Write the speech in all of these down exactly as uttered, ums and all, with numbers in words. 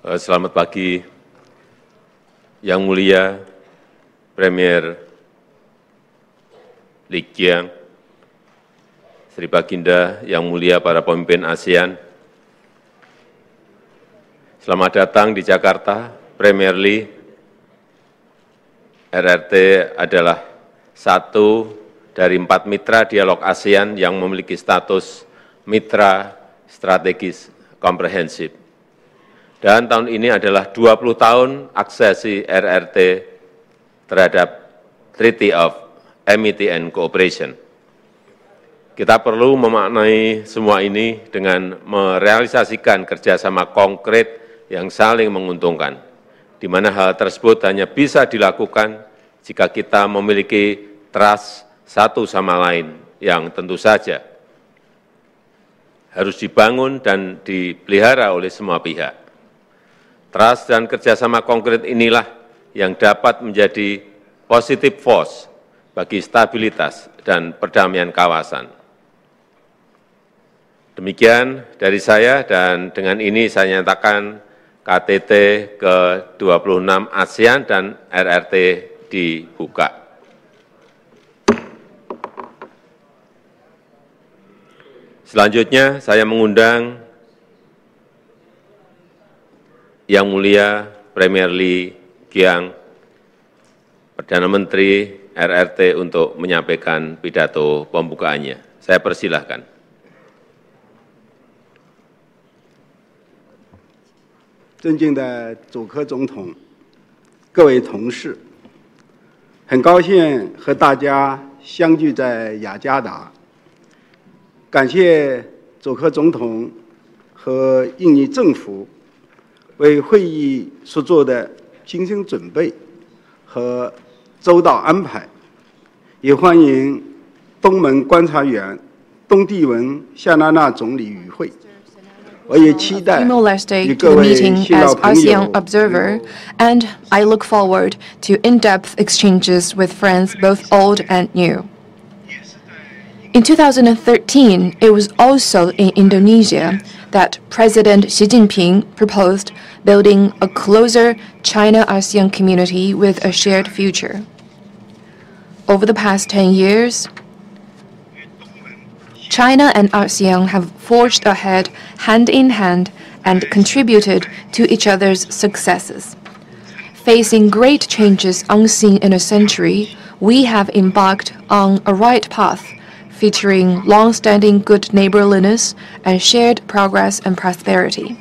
Selamat pagi, Yang Mulia Premier Li Qiang, Sri Baginda, Yang Mulia para pemimpin ASEAN. Selamat datang di Jakarta, Premier Li. R R T adalah satu dari empat mitra dialog ASEAN yang memiliki status mitra strategis komprehensif. Dan tahun ini adalah dua puluh tahun aksesi R R T terhadap Treaty of Amity and Cooperation. Kita perlu memaknai semua ini dengan merealisasikan kerjasama konkret yang saling menguntungkan, di mana hal tersebut hanya bisa dilakukan jika kita memiliki trust satu sama lain yang tentu saja harus dibangun dan dipelihara oleh semua pihak. Trust dan kerjasama konkret inilah yang dapat menjadi positive force bagi stabilitas dan perdamaian kawasan. Demikian dari saya, dan dengan ini saya nyatakan K T T ke dua puluh enam ASEAN dan R R T dibuka. Selanjutnya saya mengundang Yang Mulia Premier Li Qiang, Perdana Menteri R R T untuk menyampaikan pidato pembukaannya. Saya persilahkan. 尊敬的佐科总统，各位同事，很高兴和大家相聚在雅加达。感谢佐科总统和印尼政府为会议所做的精心准备和周到安排，也欢迎东盟观察员东帝汶夏娜娜总理与会。 Timor-Leste to the meeting as ASEAN observer, and I look forward to in-depth exchanges with friends both old and new. In two thousand thirteen, it was also in Indonesia that President Xi Jinping proposed building a closer China-ASEAN community with a shared future. Over the past ten years, China and ASEAN have forged ahead hand in hand and contributed to each other's successes. Facing great changes unseen in a century, we have embarked on a right path, featuring long-standing good neighborliness and shared progress and prosperity.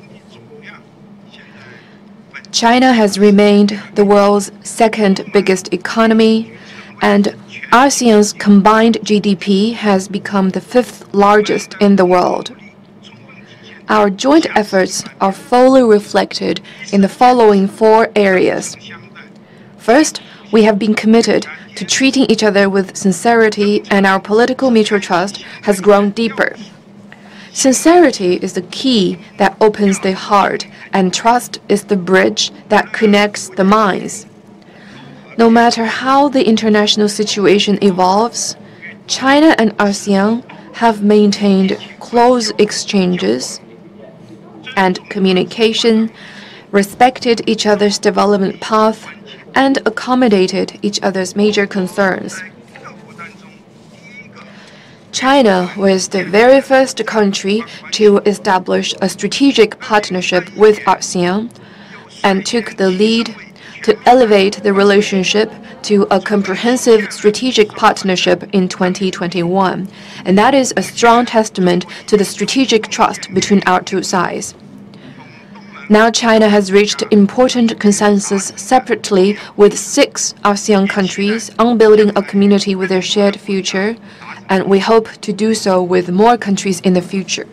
China has remained the world's second biggest economy, and ASEAN's combined G D P has become the fifth largest in the world. Our joint efforts are fully reflected in the following four areas. First, we have been committed to treating each other with sincerity, and our political mutual trust has grown deeper. Sincerity is the key that opens the heart, and trust is the bridge that connects the minds. No matter how the international situation evolves, China and ASEAN have maintained close exchanges and communication, respected each other's development path, and accommodated each other's major concerns. China was the very first country to establish a strategic partnership with ASEAN and took the lead to elevate the relationship to a comprehensive strategic partnership in twenty twenty-one, and that is a strong testament to the strategic trust between our two sides. Now China has reached important consensus separately with six ASEAN countries on building a community with a shared future, and we hope to do so with more countries in the future.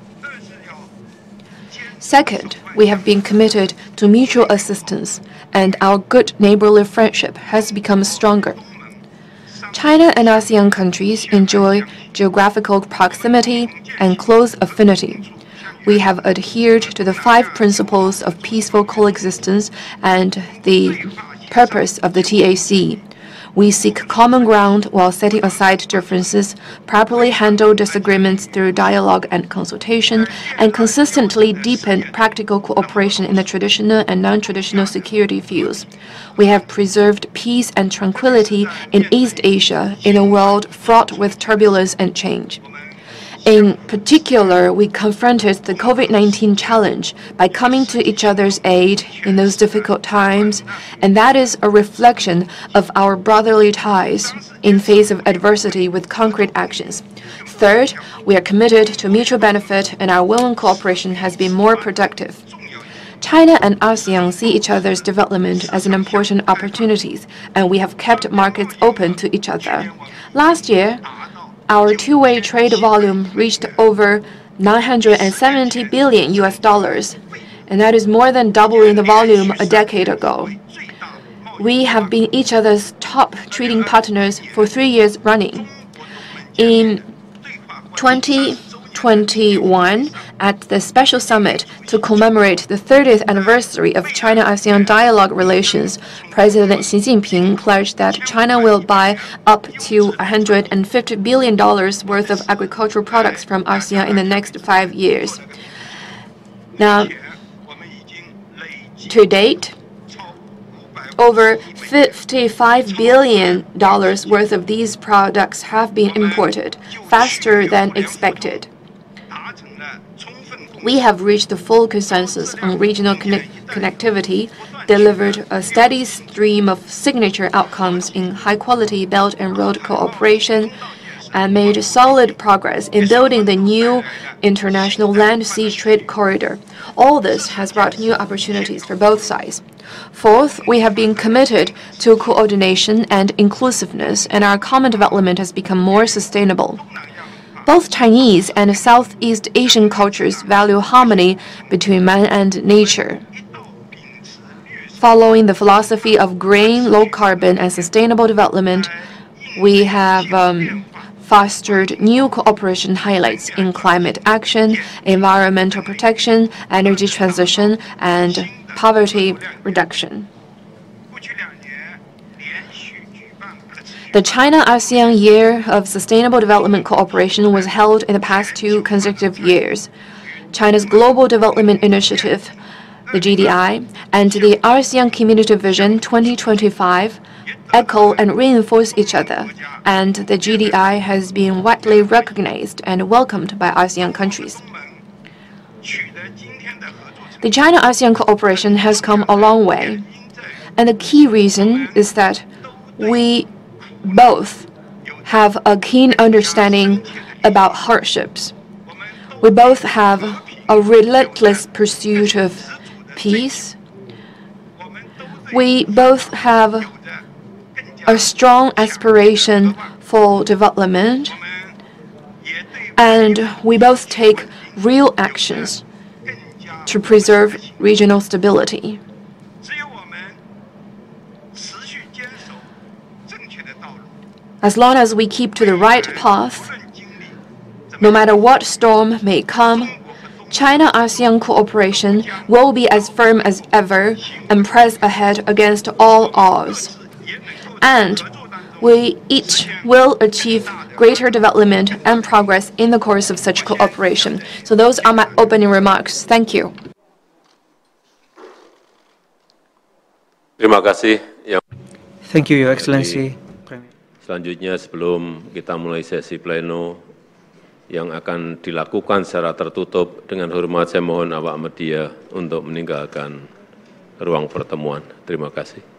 Second, we have been committed to mutual assistance, and our good neighborly friendship has become stronger. China and ASEAN countries enjoy geographical proximity and close affinity. We have adhered to the five principles of peaceful coexistence and the purpose of the T A C. We seek common ground while setting aside differences, properly handle disagreements through dialogue and consultation, and consistently deepen practical cooperation in the traditional and non-traditional security fields. We have preserved peace and tranquility in East Asia in a world fraught with turbulence and change. In particular, we confronted the COVID nineteen challenge by coming to each other's aid in those difficult times, and that is a reflection of our brotherly ties in face of adversity with concrete actions. Third, we are committed to mutual benefit, and our will and cooperation has been more productive. China and ASEAN see each other's development as an important opportunities, and we have kept markets open to each other. Last year, our two-way trade volume reached over nine hundred seventy billion U S dollars, and that is more than doubling the volume a decade ago. We have been each other's top trading partners for three years running. In twenty twenty-one, at the special summit to commemorate the thirtieth anniversary of China-ASEAN dialogue relations, President Xi Jinping pledged that China will buy up to one hundred fifty billion dollars worth of agricultural products from ASEAN in the next five years. Now, to date, over fifty-five billion dollars worth of these products have been imported, faster than expected. We have reached the full consensus on regional connect connectivity, delivered a steady stream of signature outcomes in high-quality Belt and Road cooperation, and made solid progress in building the new international land-sea trade corridor. All this has brought new opportunities for both sides. Fourth, we have been committed to coordination and inclusiveness, and our common development has become more sustainable. Both Chinese and Southeast Asian cultures value harmony between man and nature. Following the philosophy of green, low carbon, and sustainable development, we have um, fostered new cooperation highlights in climate action, environmental protection, energy transition, and poverty reduction. The China-ASEAN Year of Sustainable Development Cooperation was held in the past two consecutive years. China's Global Development Initiative, the G D I, and the ASEAN Community Vision twenty twenty-five echo and reinforce each other, and the G D I has been widely recognized and welcomed by ASEAN countries. The China-ASEAN cooperation has come a long way, and the key reason is that we both have a keen understanding about hardships. We both have a relentless pursuit of peace. We both have a strong aspiration for development, and we both take real actions to preserve regional stability. As long as we keep to the right path, no matter what storm may come, China-ASEAN cooperation will be as firm as ever and press ahead against all odds. And we each will achieve greater development and progress in the course of such cooperation. So those are my opening remarks. Thank you. Terima kasih. Thank you, Your Excellency. Selanjutnya, sebelum kita mulai sesi pleno yang akan dilakukan secara tertutup, dengan hormat saya mohon awak media untuk meninggalkan ruang pertemuan. Terima kasih.